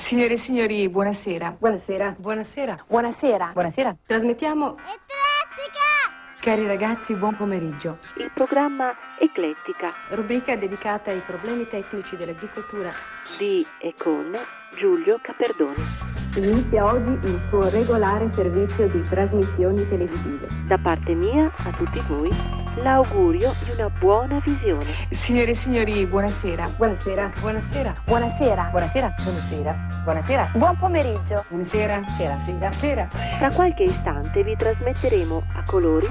Signore e signori, buonasera. Buonasera. Buonasera. Buonasera. Buonasera. Trasmettiamo... Eclettica! Cari ragazzi, buon pomeriggio. Il programma Eclettica Rubrica dedicata ai problemi tecnici dell'agricoltura di e con Giulio Caperdoni. Inizia oggi il suo regolare servizio di trasmissioni televisive. Da parte mia a tutti voi l'augurio di una buona visione. Signore e signori, buonasera. Buonasera. Buonasera. Buonasera. Buonasera. Buonasera. Buonasera. Buon pomeriggio. Buonasera. Sera. Sera. Sera. Tra qualche istante vi trasmetteremo a colori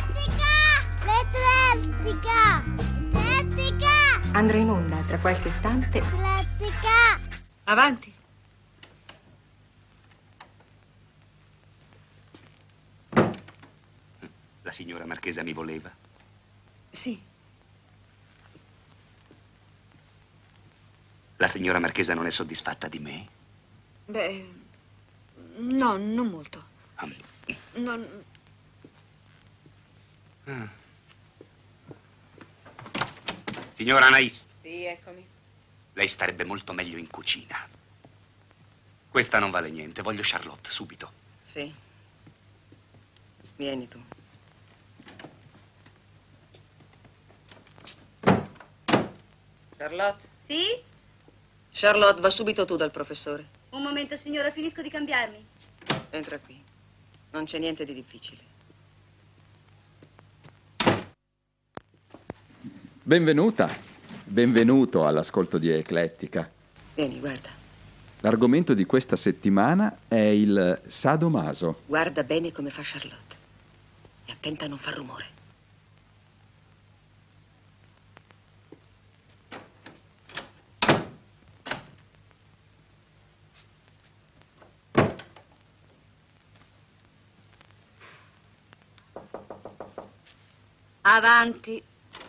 L'Eclettica! L'Eclettica! Andrà in onda tra qualche istante. L'Eclettica! Avanti. La signora Marchesa mi voleva? Sì. La signora Marchesa non è soddisfatta di me? Beh, no, non molto. Non... Signora Anais, Sì, eccomi. lei starebbe molto meglio in cucina. Questa non vale niente, voglio Charlotte, subito. Sì. Vieni tu. Charlotte? Sì? Charlotte, va subito tu dal professore. Un momento, signora, finisco di cambiarmi. Entra qui. Non c'è niente di difficile. Benvenuta, benvenuto all'ascolto di Eclettica. Vieni, guarda. L'argomento di questa settimana è il sadomaso. Guarda bene come fa Charlotte. E attenta a non far rumore. Avanti.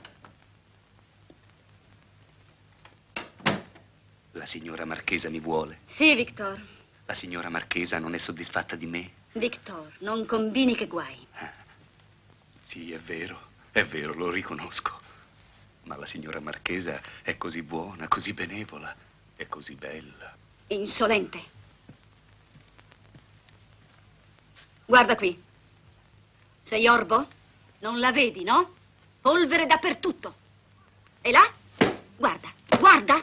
La signora Marchesa mi vuole? Sì, Victor. La signora Marchesa non è soddisfatta di me? Victor, non combini che guai. Sì, è vero, lo riconosco. Ma la signora Marchesa è così buona, così benevola, è così bella. Insolente. Guarda qui. Sei orbo? Non la vedi, no? Polvere dappertutto. E là? Guarda, guarda.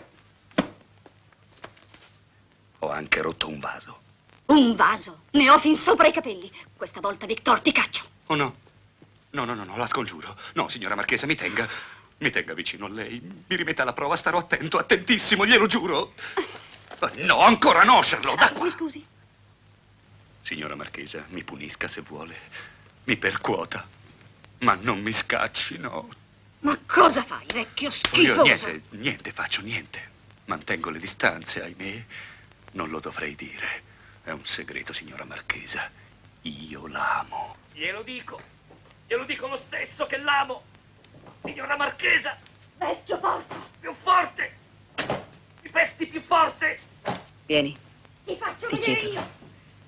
Ho anche rotto un vaso. Un vaso. Ne ho fin sopra i capelli. Questa volta, Victor, ti caccio. Oh no. No, la scongiuro. No, signora Marchesa, mi tenga. Mi tenga vicino a lei. Mi rimetta alla prova, starò attento, attentissimo, glielo giuro. No, ancora no, Charlotte, da qua. Mi scusi? Signora Marchesa, mi punisca se vuole. Mi percuota. Ma non mi scacci, no. Ma cosa fai, vecchio Io schifoso? niente faccio, niente. Mantengo le distanze, ahimè. Non lo dovrei dire. È un segreto, signora Marchesa. Io l'amo. Glielo dico lo stesso che l'amo. Signora Marchesa, Vecchio porco! più forte. Mi pesti più forte. Vieni. Ti faccio Ti vedere chiedo. io!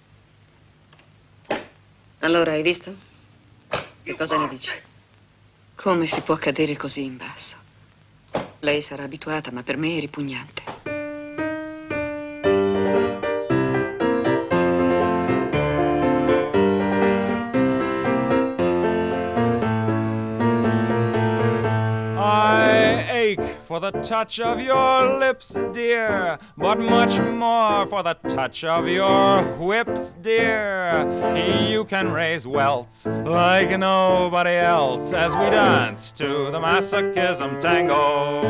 Allora, hai visto? Che Più cosa ne forte. dici? Come si può cadere così in basso? Lei sarà abituata, ma per me è ripugnante. For the touch of your lips, dear, but much more for the touch of your whips, dear. You can raise welts like nobody else as we dance to the masochism tango.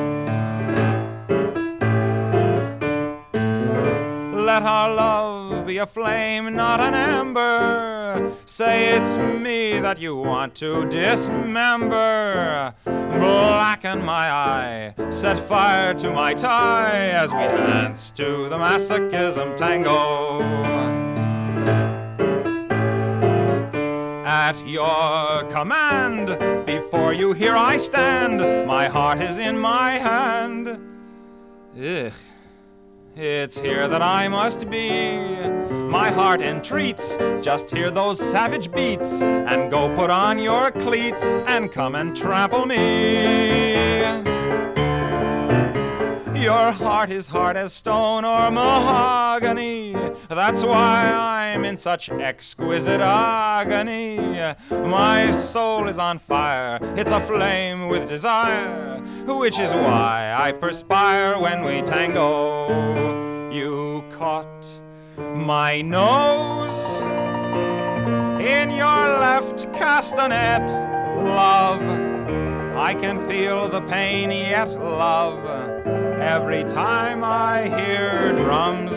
Let our love be a flame, not an ember. Say it's me that you want to dismember. Blacken my eye, set fire to my tie as we dance to the masochism tango. At your command, before you here I stand. My heart is in my hand. Ugh. It's here that I must be. My heart entreats, just hear those savage beats, and go put on your cleats and come and trample me. Your heart is hard as stone or mahogany. That's why I'm in such exquisite agony. My soul is on fire, it's aflame with desire, which is why I perspire when we tango. You caught my nose in your left castanet, love. I can feel the pain yet, love, every time I hear drums.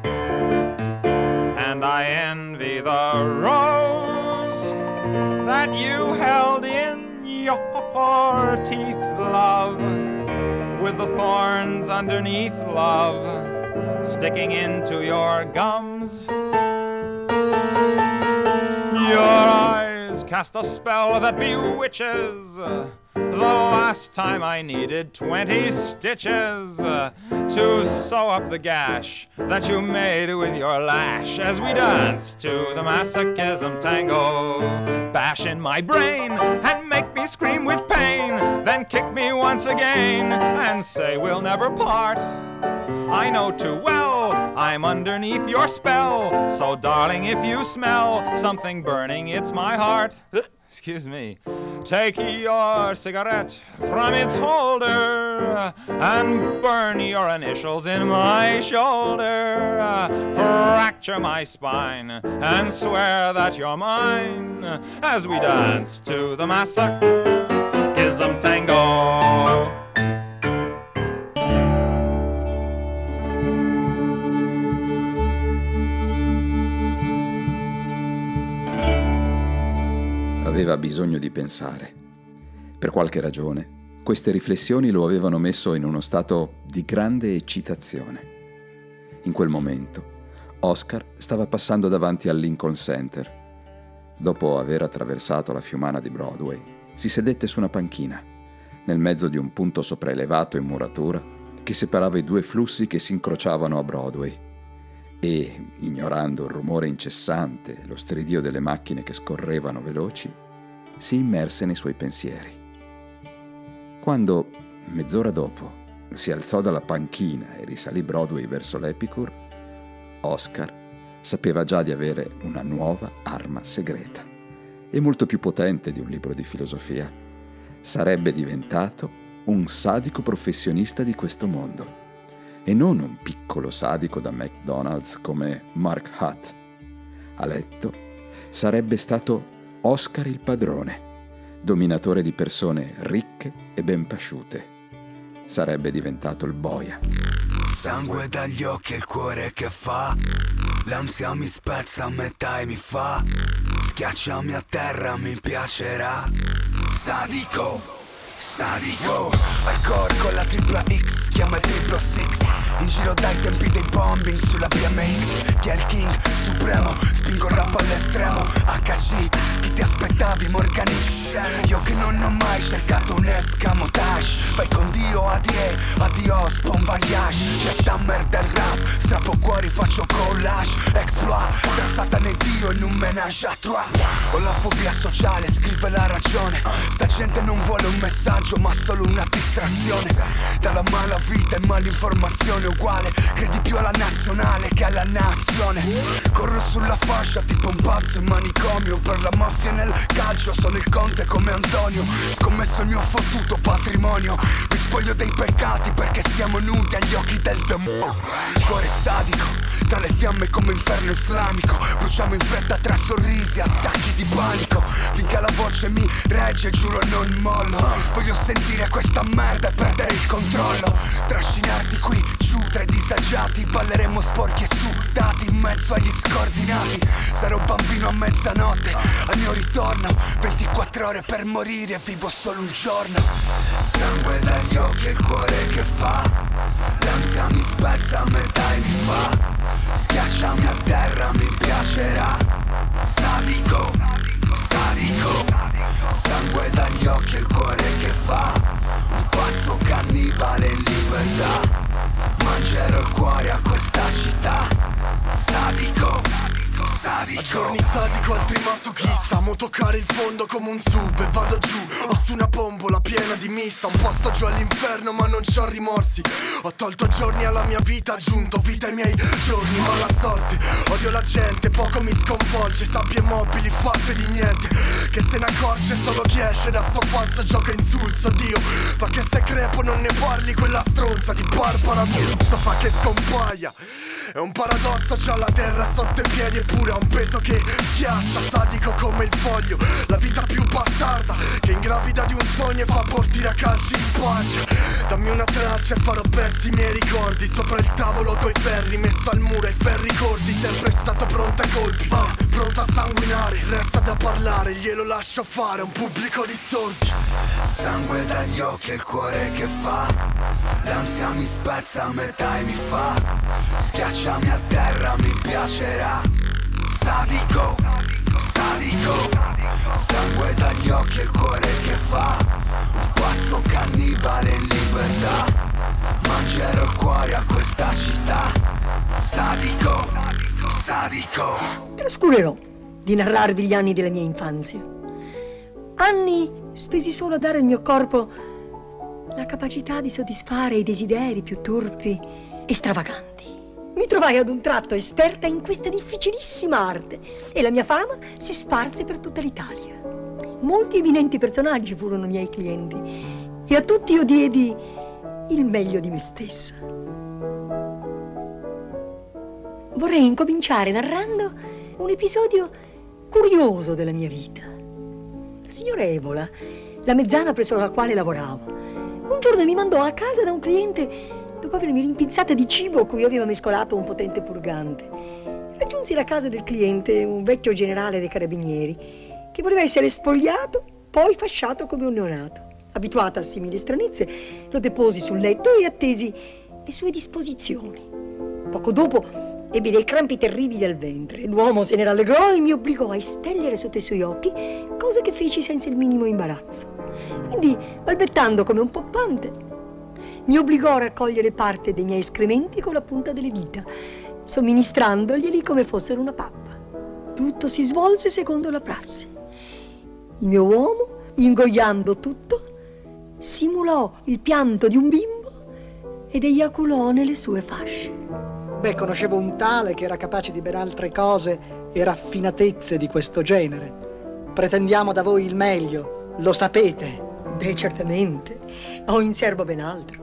And I envy the rose that you held in your teeth, love, with the thorns underneath, love, sticking into your gums. Your eyes cast a spell that bewitches. The last time I needed 20 stitches to sew up the gash that you made with your lash as we danced to the masochism tango. Bash in my brain and make me scream with pain, then kick me once again and say we'll never part. I know too well I'm underneath your spell, so darling, if you smell something burning, it's my heart. Excuse me. Take your cigarette from its holder and burn your initials in my shoulder. Fracture my spine and swear that you're mine as we dance to the masochism tango. Aveva bisogno di pensare. Per qualche ragione, queste riflessioni lo avevano messo in uno stato di grande eccitazione. In quel momento, Oscar stava passando davanti al Lincoln Center. Dopo aver attraversato la fiumana di Broadway, si sedette su una panchina, nel mezzo di un punto sopraelevato in muratura che separava i due flussi che si incrociavano a Broadway. E, ignorando il rumore incessante, lo stridio delle macchine che scorrevano veloci, si immerse nei suoi pensieri. Quando, mezz'ora dopo, si alzò dalla panchina e risalì Broadway verso l'Epicure, Oscar sapeva già di avere una nuova arma segreta, e molto più potente di un libro di filosofia. Sarebbe diventato un sadico professionista di questo mondo, e non un piccolo sadico da McDonald's come Mark Hutt. A letto sarebbe stato Oscar il padrone, dominatore di persone ricche e ben pasciute. Sarebbe diventato il boia. Sangue dagli occhi e il cuore che fa, l'ansia mi spezza a metà e mi fa, schiacciami a terra, mi piacerà. Sadico, sadico, hardcore con la tripla X, chiama il triplo six. In giro dai tempi dei bombing sulla BMX. Chi è il king supremo, spingo il rap all'estremo. HC, chi ti aspettavi, Morgan X. Io che non ho mai cercato un escamotage. Vai con Dio, adios, bon voyage. C'è Tammer del rap, strappo cuori, faccio collage. Exploit, tra Satana e Dio in un menage à trois. Ho la fobia sociale, scrive la ragione. Sta gente non vuole un messaggio ma solo una distrazione. Dalla mala vita e malinformazione uguale, credi più alla nazionale che alla nazione. Corro sulla fascia tipo un pazzo in manicomio. Per la mafia nel calcio sono il conte come Antonio. Scommesso il mio fottuto patrimonio. Mi spoglio dei peccati perché siamo nudi agli occhi del demonio. Cuore sadico, tra le fiamme come inferno islamico. Bruciamo in fretta tra sorrisi, attacchi di panico. Finché la voce mi regge, giuro non mollo. Voglio sentire questa merda e perdere il controllo. Trascinarti qui giù tra i disagiati. Balleremo sporchi e sudati in mezzo agli scordinati. Sarò bambino a mezzanotte, al mio ritorno 24 ore per morire, vivo solo un giorno. Sangue dagli occhi e il cuore che fa, l'ansia mi spezza a metà e mi fa, schiacciami a terra, mi piacerà. Sadico, sadico, sangue dagli occhi e il cuore che fa, un pazzo cannibale in libertà. Mangerò il cuore a questa città. Sadico, sadico. Giorni sadico, altri masochista. Amo toccare il fondo come un sub e vado giù. Ho su una bombola piena di mista. Un posto giù all'inferno ma non c'ho rimorsi. Ho tolto giorni alla mia vita, aggiunto vita ai miei giorni. Mala sorte, odio la gente, poco mi sconvolge. Sabbie mobili fatte di niente, che se ne accorge solo chi esce da sto falso gioco insulso. Dio, fa che se crepo non ne parli, quella stronza di Barbara Brutta fa che scompaia. È un paradosso, c'ha la terra sotto i piedi eppure ha un peso che schiaccia, sadico come il foglio. La vita più bastarda che ingravida di un sogno e fa abortire a calci in pancia. Dammi una traccia e farò pezzi i miei ricordi. Sopra il tavolo coi ferri, messo al muro ai ferri corti. Sempre stato pronto ai colpi, pronto a sanguinare. Resta da parlare, glielo lascio fare, un pubblico di sordi. Sangue dagli occhi e il cuore che fa. L'ansia mi spezza a metà e mi fa. Schiacciami a terra, mi piacerà. Sadico, sadico. Sangue dagli occhi e il cuore che fa. Un pazzo cannibale in libertà. Mangerò il cuore a questa città. Sadico, sadico. Trascurerò di narrarvi gli anni della mia infanzia. Anni spesi solo a dare al mio corpo la capacità di soddisfare i desideri più turpi e stravaganti. Mi trovai ad un tratto esperta in questa difficilissima arte e la mia fama si sparse per tutta l'Italia. Molti eminenti personaggi furono miei clienti e a tutti io diedi il meglio di me stessa. Vorrei incominciare narrando un episodio curioso della mia vita. La signora Evola, la mezzana presso la quale lavoravo, un giorno mi mandò a casa da un cliente dopo avermi rimpinzata di cibo cui aveva mescolato un potente purgante. Raggiunsi la casa del cliente, un vecchio generale dei carabinieri, che voleva essere spogliato, poi fasciato come un neonato. Abituata a simili stranezze, lo deposi sul letto e attesi le sue disposizioni. Poco dopo ebbi dei crampi terribili al ventre. L'uomo se ne rallegrò e mi obbligò a espellere sotto i suoi occhi, cosa che feci senza il minimo imbarazzo. Quindi, balbettando come un poppante, mi obbligò a raccogliere parte dei miei escrementi con la punta delle dita, somministrandoglieli come fossero una pappa. Tutto si svolse secondo la prassi. Il mio uomo, ingoiando tutto, simulò il pianto di un bimbo ed eiaculò nelle sue fasce. Beh, conoscevo un tale che era capace di ben altre cose e raffinatezze di questo genere. Pretendiamo da voi il meglio, lo sapete. Beh, certamente. Ho in serbo ben altro.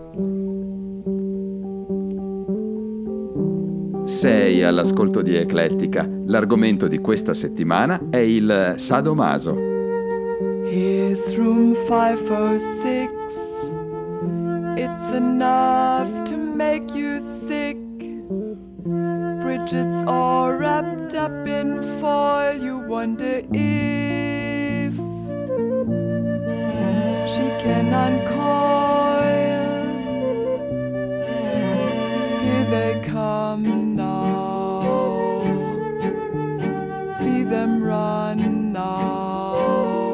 Sei all'ascolto di Eclettica. L'argomento di questa settimana è il sadomaso. Here's room 506. It's enough to make you sick. Bridget's all wrapped up in foil. You wonder if she can uncoil. Here they come now. See them run now.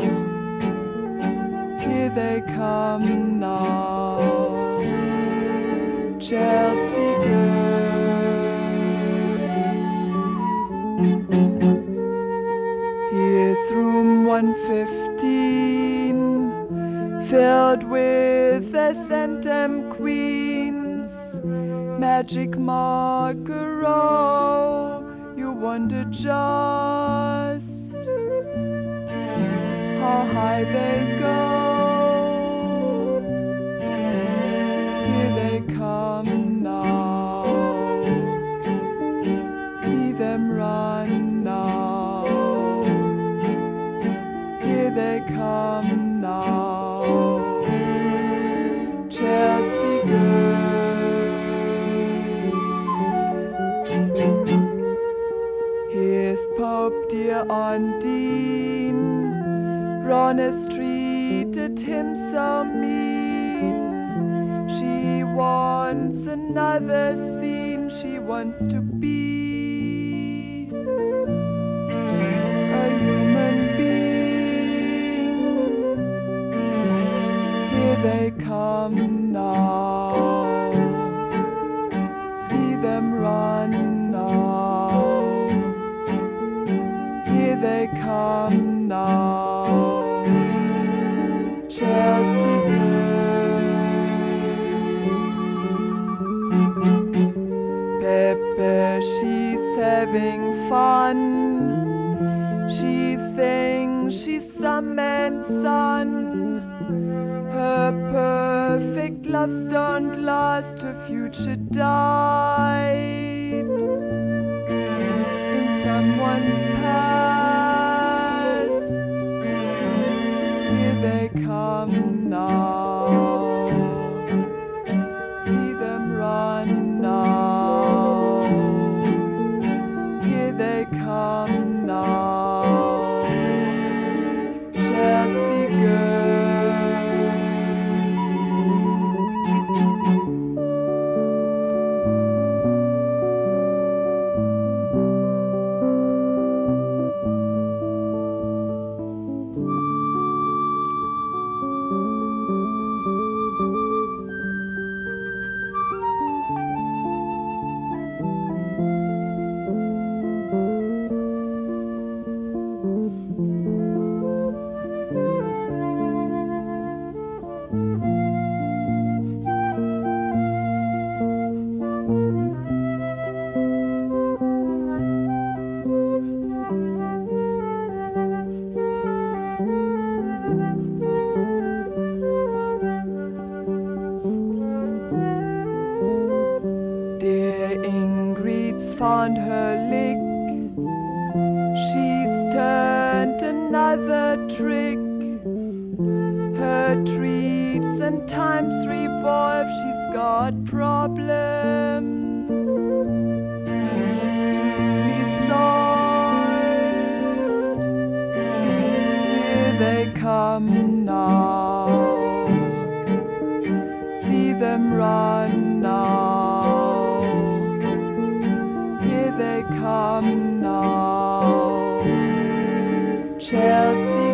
Here they come now. Chelsea girls. Here's room 115, filled with the Centum Queens. Magic Margaro, you wonder just how high they go. Here they come now. See them run now. Here they come now. Chelsea girls. Here's Pope dear on Dean. Ronest treated him so mean. She wants another scene. She wants to be a human being. Here they come now. See them run now. Here they come now, Chelsea girls. Pepe, she's having fun. She thinks she's some man's son. Her perfect loves don't last, her future died in someone's past. Here they come now, see them run now. Here they come now, Chelsea girls. Found her lick. She's turned another trick. Her treats and times revolve. She's got problems to be solved. Here they come now, see them run now. They come now, Chelsea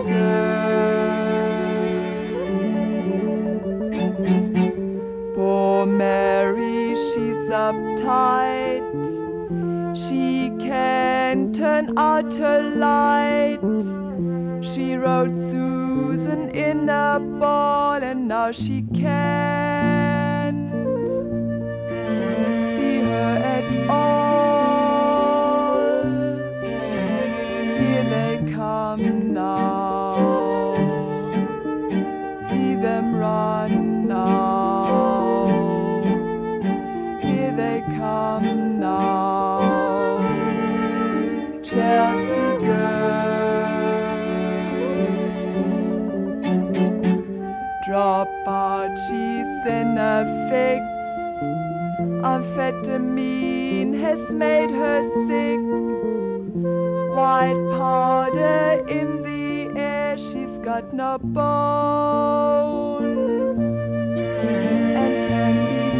girls. Poor Mary, she's uptight. She can't turn out her light. She wrote Susan in a ball, and now she can't see her at all. Come now, see them run now. Here they come now, Chelsea girls. Drop out, she's in a fix. Amphetamine has made her sick. White powder in the air, she's got no bones and can be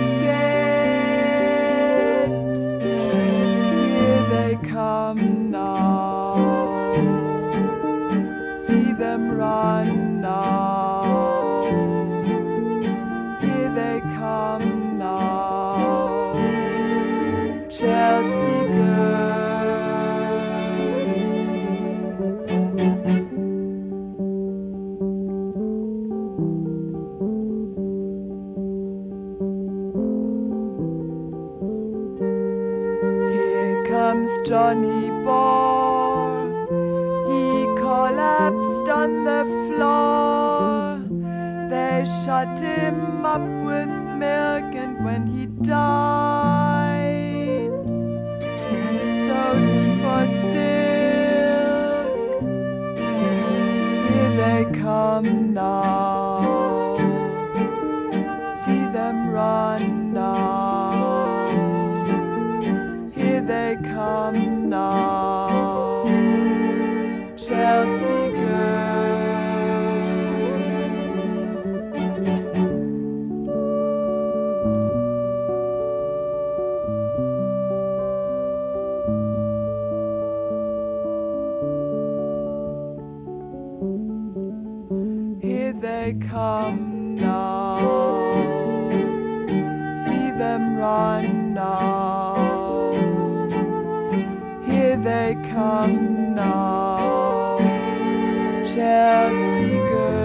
scared. Here they come now, see them run now. Here they come now, Chelsea girls. Johnny Bohr, he collapsed on the floor. They shut him up with milk, and when he died, sewed him for silk. Here they come now, see them run now. They come now, Chelsea girls. Here they come now, see them run now. Here they come now. herzige.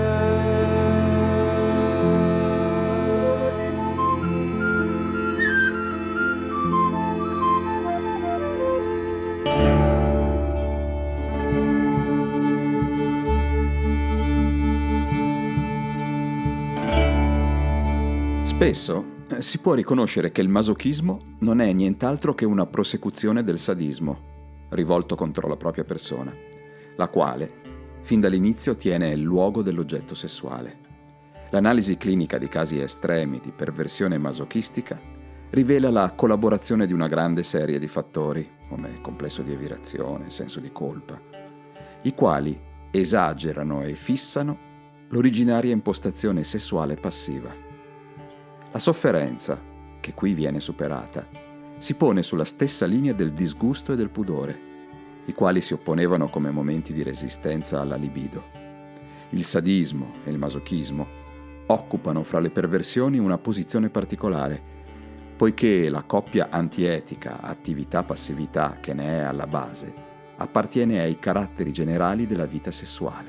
Spesso si può riconoscere che il masochismo non è nient'altro che una prosecuzione del sadismo, rivolto contro la propria persona, la quale, fin dall'inizio, tiene il luogo dell'oggetto sessuale. L'analisi clinica di casi estremi di perversione masochistica rivela la collaborazione di una grande serie di fattori, come complesso di evirazione, senso di colpa, i quali esagerano e fissano l'originaria impostazione sessuale passiva. La sofferenza, che qui viene superata, si pone sulla stessa linea del disgusto e del pudore, i quali si opponevano come momenti di resistenza alla libido. Il sadismo e il masochismo occupano fra le perversioni una posizione particolare, poiché la coppia antietica attività-passività che ne è alla base appartiene ai caratteri generali della vita sessuale.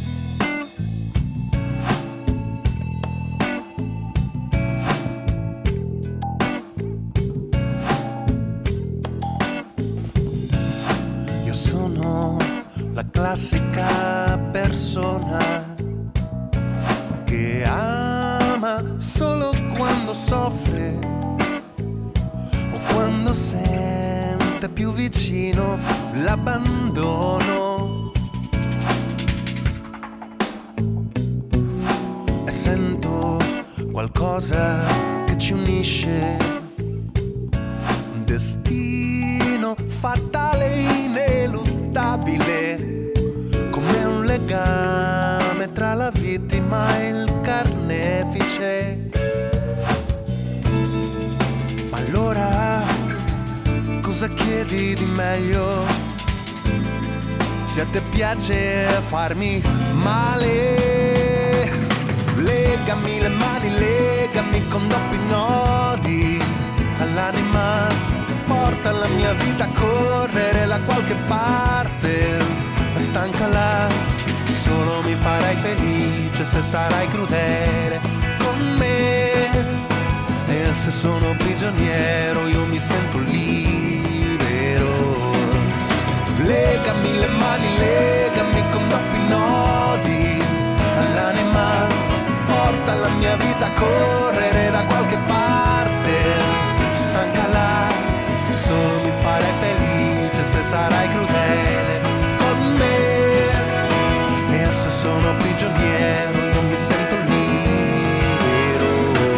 La classica persona che ama solo quando soffre o quando sente più vicino l'abbandono. E sento qualcosa che ci unisce, un destino fatale e ineluttabile, come un legame tra la vittima e il carnefice. Ma allora cosa chiedi di meglio? Se a te piace farmi male, legami le mani, legami con doppi nodi all'anima, porta la mia vita a correre da qualche parte, stancala, solo mi farai felice se sarai crudele con me, e se sono prigioniero io mi sento libero. Legami le mani, legami con doppi nodi all'anima, porta la mia vita a correre da qualche parte, stancala, solo mi farai felice se sarai crudele con me, e se sono prigioniero io mi sento libero.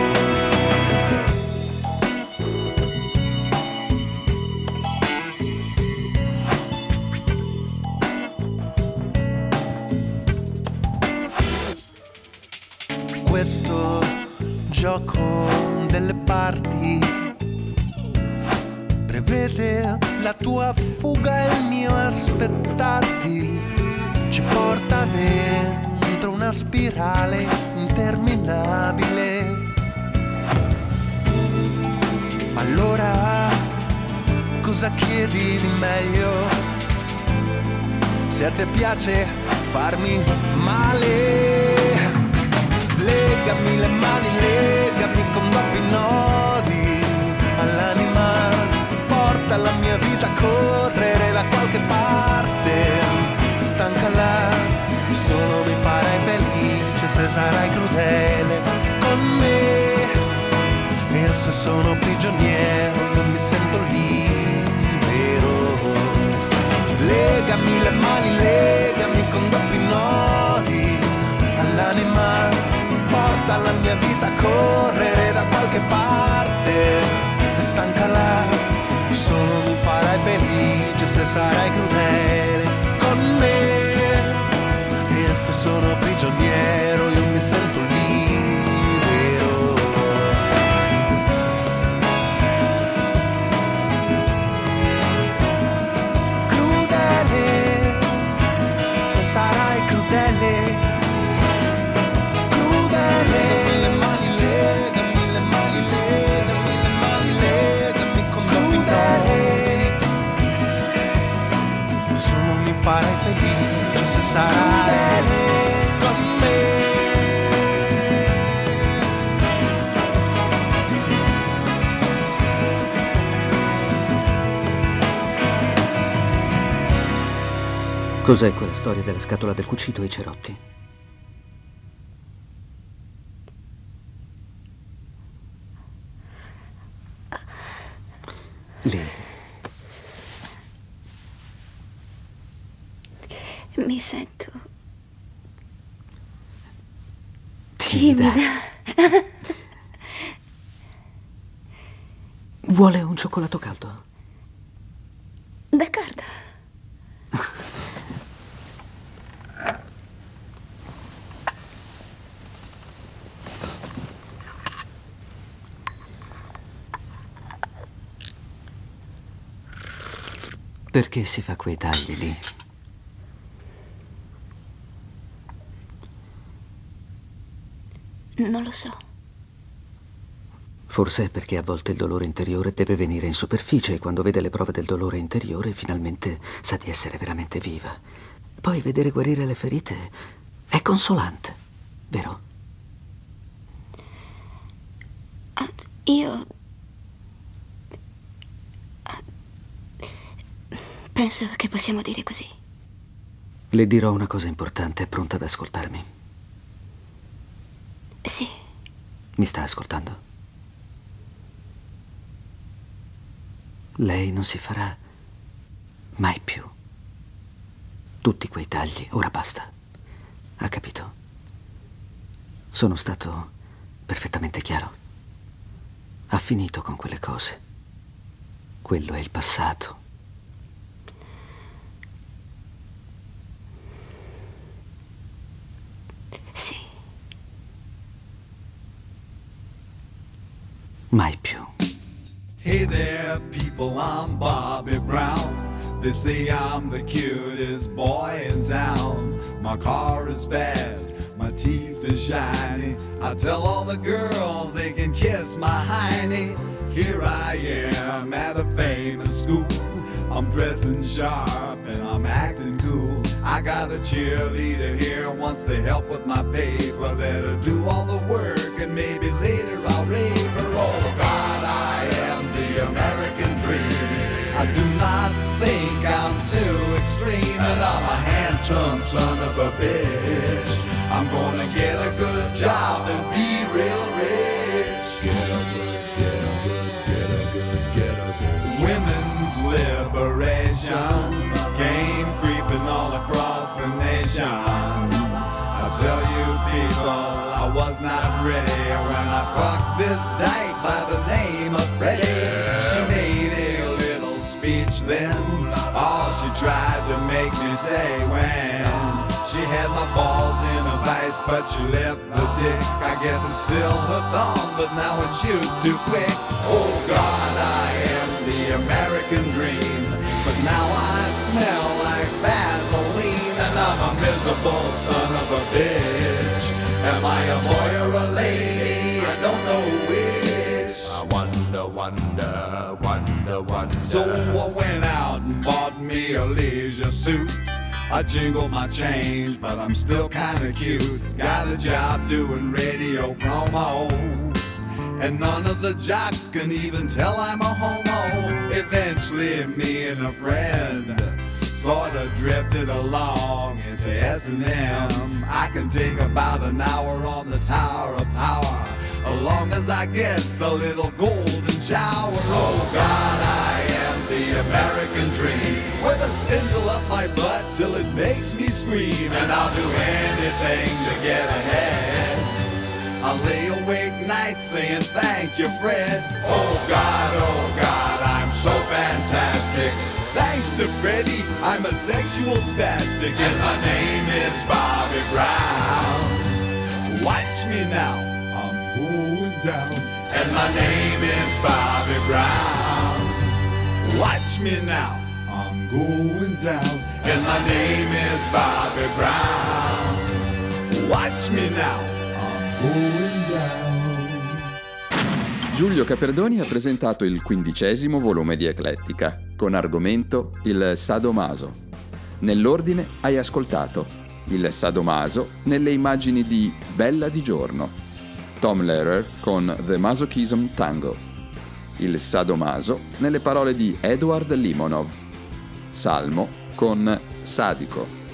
Questo gioco delle parti prevede la tua fuga e il mio aspettarti, ci porta dentro una spirale interminabile. Allora cosa chiedi di meglio? Se a te piace farmi male, legami le mani, legami con doppi nodi all'anima, porta la mia vita a correre da qualche parte, stancala, solo mi farai felice se sarai crudele con me, e se sono prigioniero non mi sento libero. Legami le mani, legami con doppi nodi all'anima, porta la mia vita a correre da qualche parte, stancala, solo mi farai felice se sarai crudele con me, e se sono prigioniero io mi sento libero. Crudele, se sarai crudele, crudele. Le mani, legami le mani, legami le mani, legami con crudele, solo mi farai felice se sarai crudele. Cos'è quella storia della scatola del cucito e i cerotti? Lì. Mi sento timida. Vuole un cioccolato caldo? D'accordo. Perché si fa quei tagli lì? Non lo so. Forse è perché a volte il dolore interiore deve venire in superficie e quando vede le prove del dolore interiore finalmente sa di essere veramente viva. Poi vedere guarire le ferite è consolante, vero? Io penso che possiamo dire così. Le dirò una cosa importante, è pronta ad ascoltarmi? Sì. Mi sta ascoltando? Lei non si farà mai più tutti quei tagli, ora basta. Ha capito? Sono stato perfettamente chiaro. Ha finito con quelle cose. Quello è il passato. Sì. Mai più. Hey there, people, I'm Bobby Brown. They say I'm the cutest boy in town. My car is fast, my teeth are shiny. I tell all the girls they can kiss my hiney. Here I am at a famous school. I'm dressing sharp and I'm acting cool. I got a cheerleader here, wants to help with my paper. Let her do all the work and maybe later I'll rave her. Oh God, I am the American dream. I do not think I'm too extreme, and I'm a handsome son of a bitch. I'm gonna get a good job and be real rich. Get a good, get a good, get a good, get a good. Women's liberation came creeping all across the nation. I tell you people, I was not ready when I fucked this dyke by the name of Freddie. She made a little speech then, all she tried to make me say when she had my balls in a vice, but she left the dick. I guess it's still hooked on, but now it shoots too quick. Oh God, I am the American dream, but now I smell like Vaseline, and I'm a miserable son of a bitch. Am I a boy or a lady? I don't know which. I wonder, wonder, wonder, wonder. So I went out and bought me a leisure suit. I jingle my change, but I'm still kinda cute. Got a job doing radio promo, and none of the jocks can even tell I'm a homo. Eventually me and a friend sorta drifted along into S&M. I can take about an hour on the Tower of Power, as long as I get a little golden shower. Oh God, I am the American dream, with a spindle up my butt till it makes me scream. And I'll do anything to get ahead. I'll lay awake nights saying thank you, Fred. Oh God, I'm so fantastic. Thanks to Freddie, I'm a sexual spastic. And my name is Bobby Brown. Watch me now, I'm going down. And my name is Bobby Brown. Watch me now, I'm going down. And my name is Bobby Brown. Watch me now, I'm going down. Giulio Caperdoni ha presentato il 15° volume di Eclettica, con argomento il sadomaso. Nell'ordine hai ascoltato il sadomaso nelle immagini di Bella di giorno, Tom Lehrer con The Masochism Tango, il sadomaso nelle parole di Edward Limonov, Salmo con Sadico.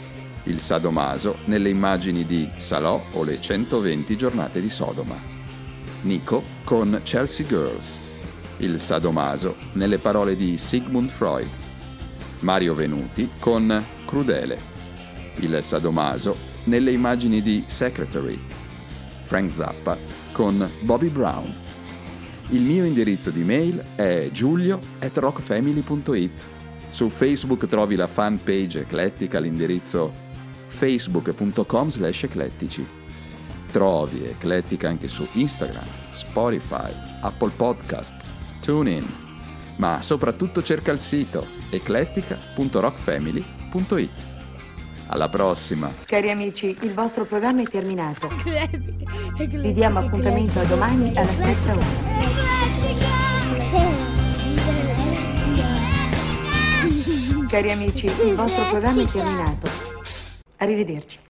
Il sadomaso nelle immagini di Salò o le 120 giornate di Sodoma. Nico con Chelsea Girls. Il sadomaso nelle parole di Sigmund Freud. Mario Venuti con Crudele. Il sadomaso nelle immagini di Secretary. Frank Zappa con Bobby Brown. Il mio indirizzo di mail è giulio@rockfamily.it. Su Facebook trovi la fanpage Eclettica all'indirizzo facebook.com/eclettici. Trovi Eclettica anche su Instagram, Spotify, Apple Podcasts, TuneIn, ma soprattutto cerca il sito eclettica.rockfamily.it. Alla prossima! Cari amici, il vostro programma è terminato. Vi diamo appuntamento a domani alla stessa ora. Cari amici, il vostro programma è terminato. Arrivederci.